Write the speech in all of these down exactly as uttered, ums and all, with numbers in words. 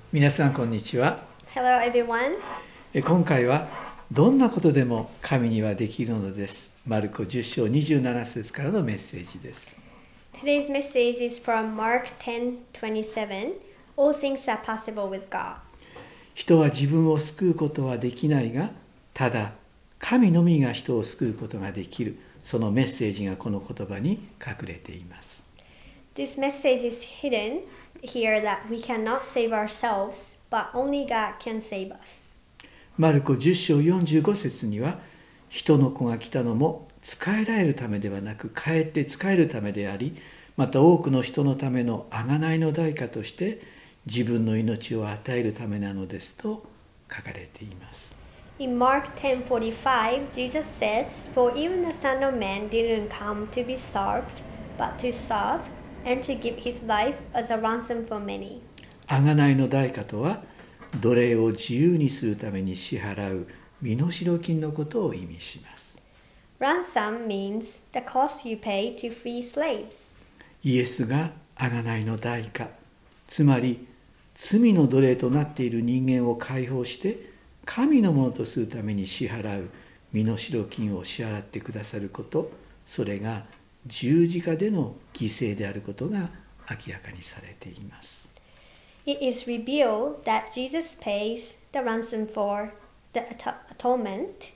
皆さんこんにちは。 Hello, everyone. え今回はどんなことでも神にはできるのです。マルコじゅっ章にじゅうなな節からのメッセージです。 Today's message is from Mark ten twenty-seven. All things are possible with God. 人は自分を救うことはできないが、ただ神のみが人を救うことができる。そのメッセージがこの言葉に隠れています。 This message is hidden here that we cannot save ourselves, but only God can save us. マルコじゅっ章よんじゅうご節には、人の子が来たのも仕えられるためではなく、かえって仕えるためであり、また多くの人のための贖いの代価として自分の命を与えるためなのですと書かれています。 In Mark ten forty-five, Jesus says, "For even the Son of Man didn't come to be served, but to serve, and to give his life as a ransom for many." 贖いの代価とは、奴隷を自由にするために支払う身代金のことを意味します。 Ransom means the cost you pay to free slaves. イエスが贖いの代価、つまり罪の奴隷となっている人間を解放して神のものとするために支払う身代金を支払ってくださること、それが十字架での犠牲であることが明らかにされています。 It is revealed that Jesus pays the ransom for the atonement,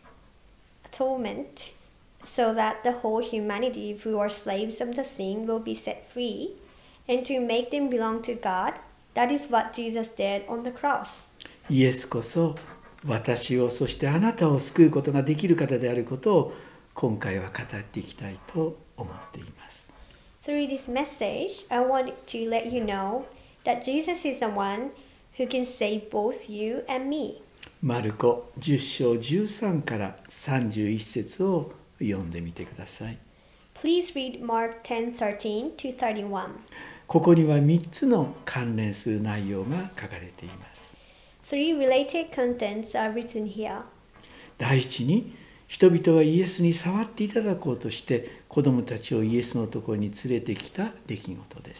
atonement, so that the whole humanity who are slaves of the sin will be set free, and to make them belong to God. That is what Jesus did on the cross. イエスこそ私を、そしてあなたを救うことができる方であることを今回は語っていきたいと思っています。 Through this message, I want to let you know that Jesus is the one who can save both you and me. マルコじゅっ章じゅうさんからさんじゅういち節を読んでみてください。 Please read Mark ten thirteen to thirty-one. ここにはみっつの関連する内容が書かれています。 Three related contents are written here. 第一に、人々はイエスに触っていただこうとして子供たちをイエスのところに連れてきた出来事です。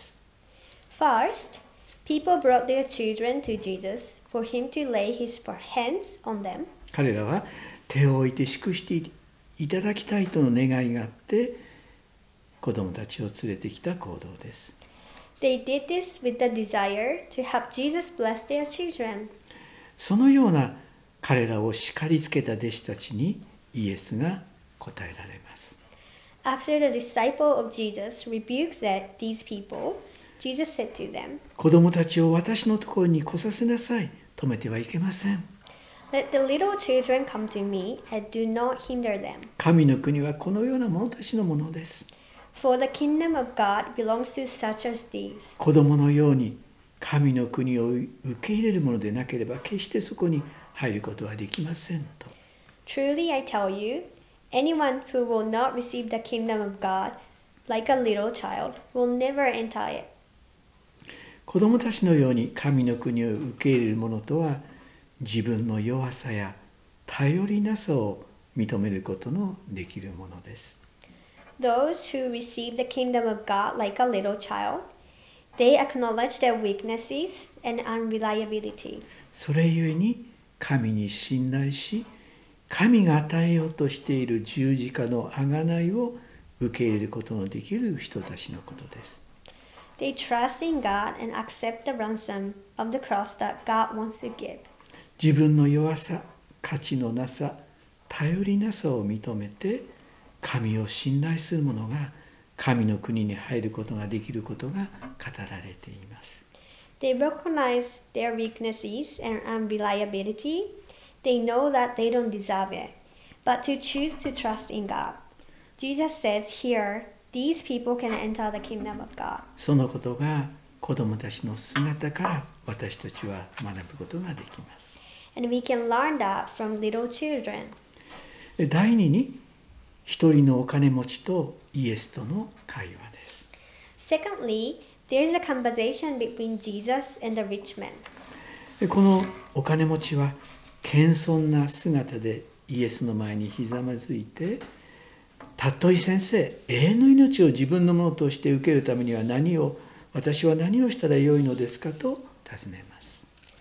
First, people brought their children to Jesus for him to lay his hands on them. 彼らは手を置いて祝していただきたいとの願いがあって子供たちを連れてきた行動です。 They did this with the desire to have Jesus bless their children. そのような彼らを叱りつけた弟子たちにイエスが答えられます。 After the disciple of Jesus rebuked that these people, Jesus said to them, 子供たちを私のところに来させなさい。止めてはいけません。 "Let the little children come to me, and do not hinder them. 神の国はこのような者たちのものです。 For the kingdom of God belongs to such as these." 子供のように神の国を受け入れるものでなければ決してそこに入ることはできませんと。 Truly I tell you, anyone who will not receive the kingdom of God like a little child will never enter it. 子供たちのように神の国を受け入れる者とは、自分の弱さや頼りなさを認めることのできるものです。 Those who receive the kingdom of God like a little child, they acknowledge their weaknesses and unreliability. それゆえに神に信頼し、神が与えようとしている十字架の贖いを受け入れることのできる人たちのことです。 They trust in God and accept the ransom of the cross that God wants to give. 自分の弱さ、価値のなさ、頼りなさを認めて、神を信頼する者が神の国に入ることができることが語られています。 They recognize their weaknesses and unreliability. They know that they don't deserve it, but to choose to trust in God. Jesus says here, these people can enter the kingdom of God. そのことが子供たちの姿から私たちは学ぶことができます。 And we can learn that from little children. 第二に、一人のお金持ちとイエスとの会話です。 Secondly, there is a conversation between Jesus and the rich man. このお金持ちは謙遜な姿でイエスの前にひざまずいて、たっとい先生、永遠の命を自分のものとして受けるためには何を、私は何をしたらよいのですかと尋ねます。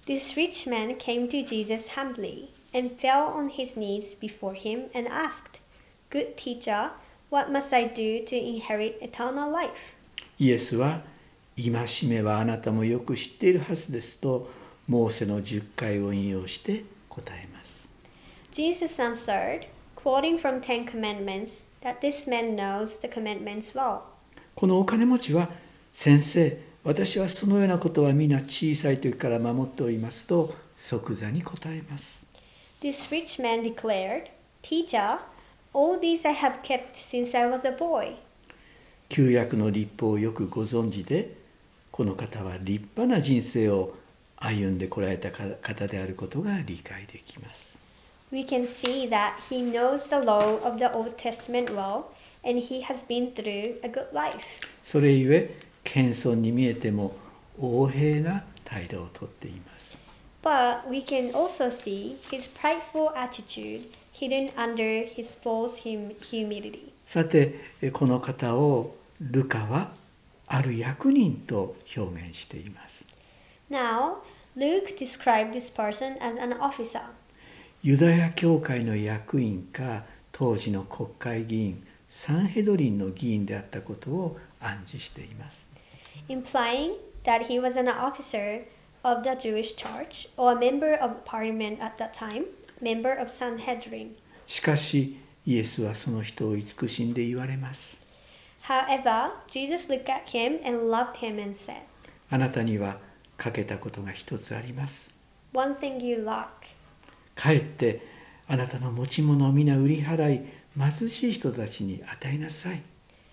This rich man came to Jesus humbly and fell on his knees before him and asked, Good teacher, what must I do to inherit eternal life? イエスは、戒めはあなたもよく知っているはずですと、モーセのじゅっかいを引用して答えます。 Jesus answered, quoting from Ten Commandments, that this man knows the commandments well. このお金持ちは、先生、私はそのようなことは皆小さい時から守っておりますと即座に答えます。 This rich man declared, Teacher, all these I have kept since I was a boy. 旧約の律法をよくご存知で、この方は立派な人生を歩んでこられた方であることが理解できます。 We can see that he knows the law of the Old Testament well, and he has been through a good life. それゆえ、謙遜に見えても横柄な態度をとっています。 But we can also see his prideful attitude hidden under his false hum- humility. さて、この方をルカはある役人と表現しています。 Now, Luke described this person as an officer. ユダヤ教会の役員か当時の国会議員サンヘドリンの議員であったことを暗示しています。 Implying that he was an officer of the Jewish church or a member of parliament at that time, member of Sanhedrin. しかし、イエスはその人を慈しんで言われます。 However, Jesus looked at him and loved him and said, あなたには欠けたことが一つあります。 One thing you lack. 帰ってあなたの持ち物を皆売り払い、貧しい人たちに与えなさい。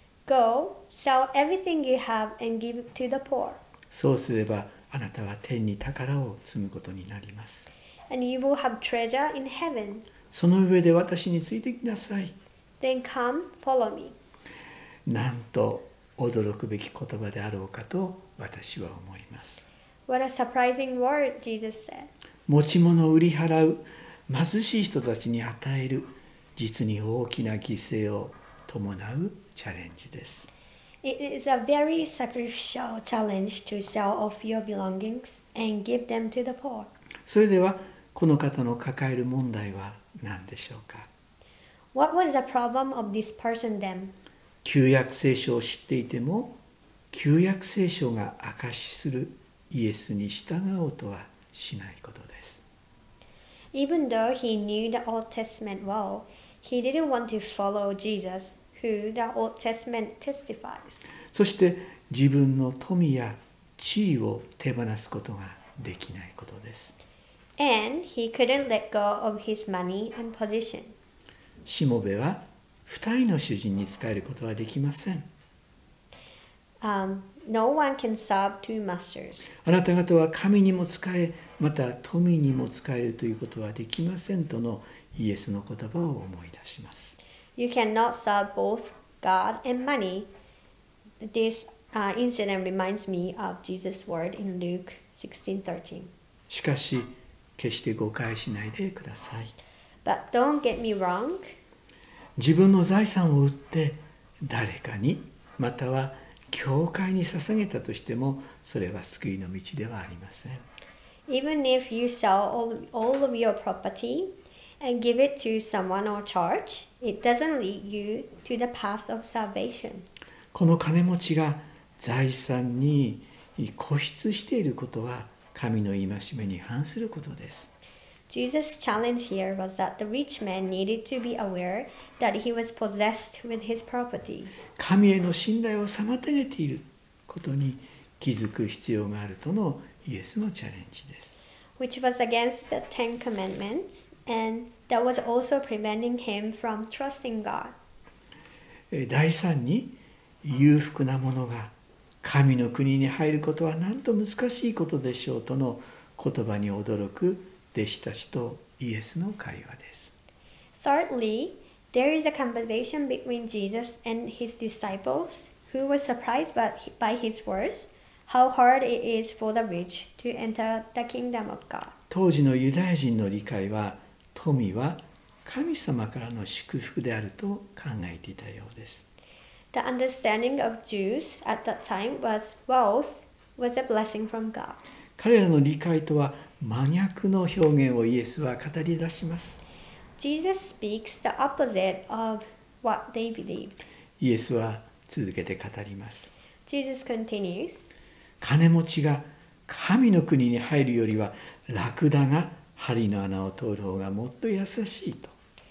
Go, sell everything you have and give it to the poor. そうすればあなたは天に宝を積むことになります。 And you will have treasure in heaven. その上で私についてきなさい。 Then come, follow me. なんと驚くべき言葉であろうかと私は思います。 What a surprising word, Jesus said. 持ち物を売り払う、貧しい人たちに与える、実に大きな犠牲を伴うチャレンジです。 It is a very sacrificial challenge to sell off your belongings and give them to the poor. それではこの方の抱える問題は何でしょうか。 What was the problem of this person then? 旧約聖書を知っていても、旧約聖書が証しするイエスに従おうとはしないことです。 Even though he knew the Old Testament well, he didn't want to follow Jesus, who the Old Testament testifies. そして自分の富や地位を手放すことができないことです。 And he couldn't let go of his money and position. しもべは二人の主人に仕えることはできません。 Um, no one can serve two masters. あなた方は神にも仕え、また富にも仕えるということはできませんとのイエスの言葉を思い出します。 You cannot serve both God and money. This uh, incident reminds me of Jesus' word in Luke sixteen thirteen. しかし、決して誤解しないでください。 But don't get me wrong. 自分の財産を売って誰かに、または教会に捧げたとしても、それは救いの道ではありません。 Even if you sell all, all of your property and give it to someone or church, it doesn't lead you to the path of salvation. この金持ちが財産に固執していることは神の戒めに反することです。 Jesus' challenge here was that the rich man needed to be aware that he was possessed with his property. 神への信頼を妨げていることに気づく必要があるとのイエスのチャレンジです。 Which was against the Ten Commandments, and that was also preventing him from trusting God. 第三に、裕福なものが神の国に入ることはなんと難しいことでしょうとの言葉に驚く弟子たちとイエスの会話です。 Thirdly, there is a conversation between Jesus and his disciples who were surprised by, by his words, how hard it is for the rich to enter the kingdom of God. 当時のユダヤ人の理解は、富は神様からの祝福であると考えていたようです。 The understanding of Jews at that time was wealth was a blessing from God. 彼らの理解とは真逆の表現をイエスは語り出します。 Jesus speaks the opposite of what they believed. イエスは続けて語ります。 Jesus continues, 金持ちが神の国に入るよりはラクダが針の穴を通る方がもっと優しいと。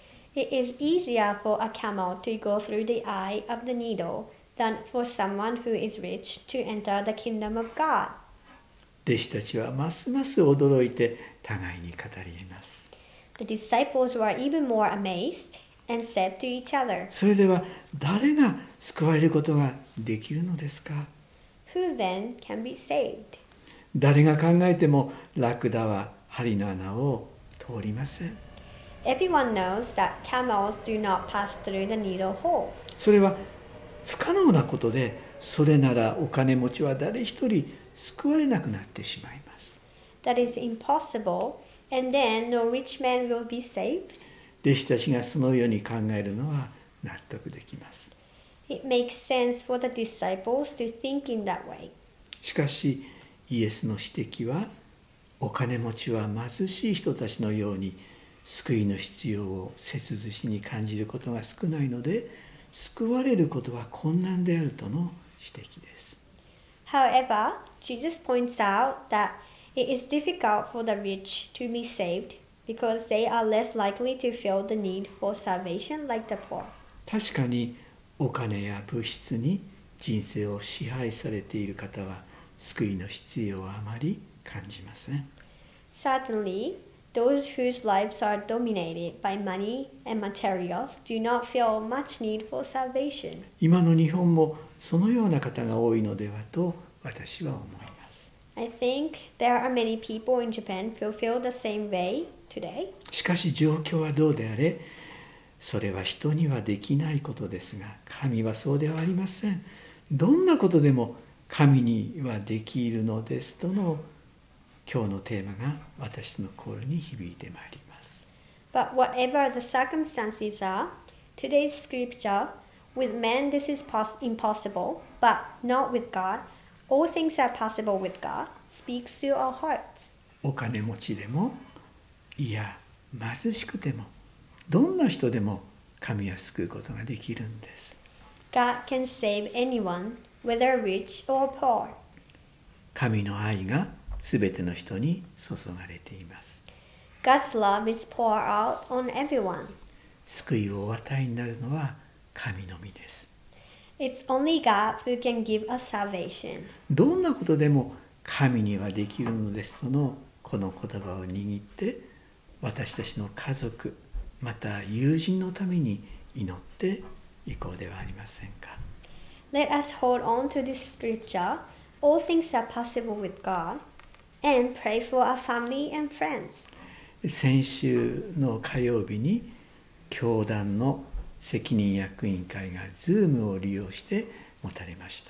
It is easier for a camel to go through the eye of the needle than for someone who is rich to enter the kingdom of God. 弟子たちはますます驚いて互いに語ります。 The disciples were even more amazed and said to each other, それでは誰が救われることができるのですか？ Who then can be saved? 誰が考えてもラクダは針の穴を通りません。 Everyone knows that camels do not pass through the needle holes. それは不可能なことで、それならお金持ちは誰一人救われなくなってしまいます。 That is impossible, and then no rich man will be saved. 弟子たちがそのように考えるのは納得できます。 It makes sense for the disciples to think in that way. しかしイエスの指摘は、お金持ちは貧しい人たちのように救いの必要を切実に感じることが少ないので、救われることは困難であるとの指摘です。 However, Jesus points out that it is difficult for the rich to be saved because they are less likely to feel the need for salvation like the poor. 確かにお金や物質に人生を支配されている方は救いの必要はあまり感じません。 Certainly, those whose lives are dominated by money and materials do not feel much need for salvation. 今の日本もそのような方が多いのではと私は思います。 I think there are many people in Japan who feel the same way today. しかし状況はどうであれ、それは人にはできないことですが、神はそうではありません。どんなことでも神にはできるのですとの今日のテーマが私の心に響いてまいります。 But whatever the circumstances are, today's scripture, with man this is pos- impossible, but not with God. All things are possible with God, speaks to our hearts. お金持ちでも、いや貧しくても、どんな人でも神は救うことができるんです。 God can save anyone, whether rich or poor. 神の愛がすべての人に注がれています。 God's love is poured out on everyone. 救いをお与えになるのは神のみです。 It's only God who can give us salvation. どんなことでも神にはできるのですとのこの言葉を握って、私たちの家族、また友人のために祈っていこうではありませんか。 Let us hold on to this scripture. All things are possible with God. And pray for our family and friends. 先週の火曜日に教団の責任役員会が Zoom を利用して持たれました。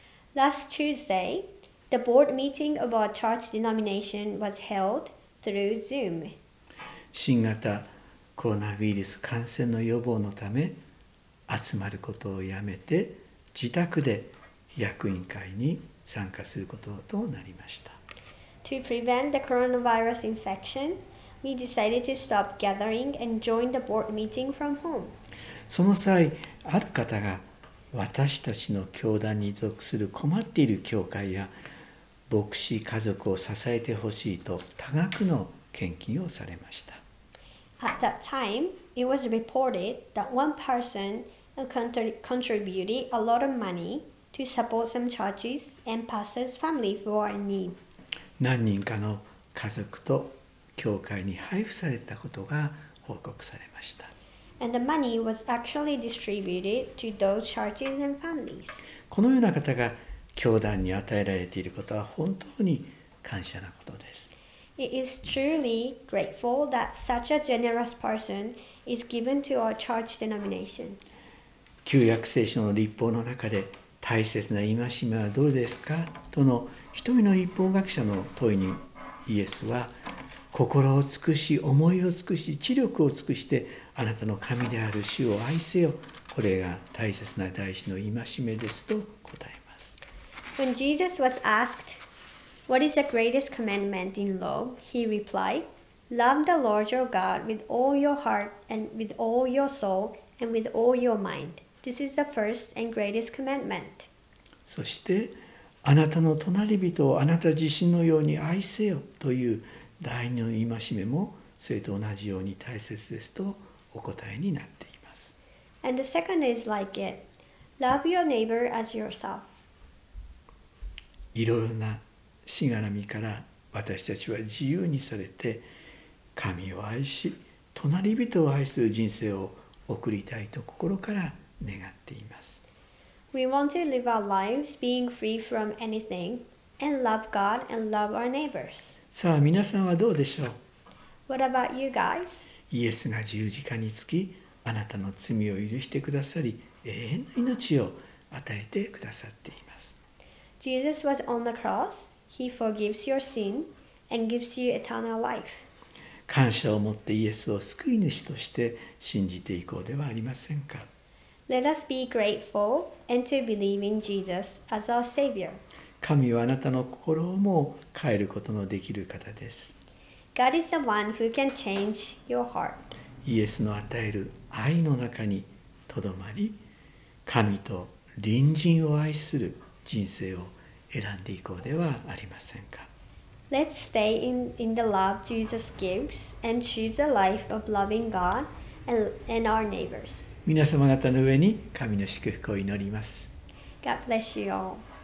Last Tuesday, the board meeting of our church denomination was held through Zoom. 新型コロナウイルス感染の予防のため、集まることをやめて自宅で役員会に参加することとなりました。 To prevent the coronavirus infection, we decided to stop gathering and join the board meeting from home. その際、ある方が私たちの教団に属する困っている教会や牧師家族を支えてほしいと多額の献金をされました。 At that time, it was reported that one person contributed a lot of money to support some churches and pastors' family who are in need. 何人かの家族と教会に配布されたことが報告されました。 And the money was actually distributed to those churches and families. このような方が教団に与えられていることは本当に感謝なことです。 It is truly grateful that such a generous person is given to our church denomination. 旧約聖書の律法の中で大切な戒めはどれですかとの一人の律法学者の問いにイエスは、心を尽くし思いを尽くし知力を尽くしてあなたの神である主を愛せよ、これが大切な大事の戒めですと答えます。 When Jesus was asked, What is the greatest commandment in law? He replied, Love the Lord your God with all your heart and with all your soul and with all your mind. This is the first and greatest commandment. そしてあなたの隣人をあなた自身のように愛せよという第二の戒めもそれと同じように大切ですとお答えになっています。 And the second is like it. Love your neighbor as yourself. いろいろなしがらみから私たちは自由にされて神を愛し隣人を愛する人生を送りたいと心から願っています。 We want to live our lives being free from anything and love God and love our neighbors. さあ皆さんはどうでしょう。 What about you guys? イエスが十字架につきあなたの罪を許してくださり永遠の命を与えてくださっています。 Jesus was on the cross. He forgives your sin and gives you eternal life. 感謝を持ってイエスを救い主として信じていこうではありませんか。 Let us be grateful and to believe in Jesus as our Savior. 神はあなたの心をも変えることのできる方です。 God is the one who can change your heart. イエスの与える愛の中にとどまり、神と隣人を愛する人生を選んでいこうではありませんか。 Let's stay in, in the love Jesus gives and choose a life of loving God and, and our neighbors. 皆様方の上に神の祝福を祈ります。 God bless you all.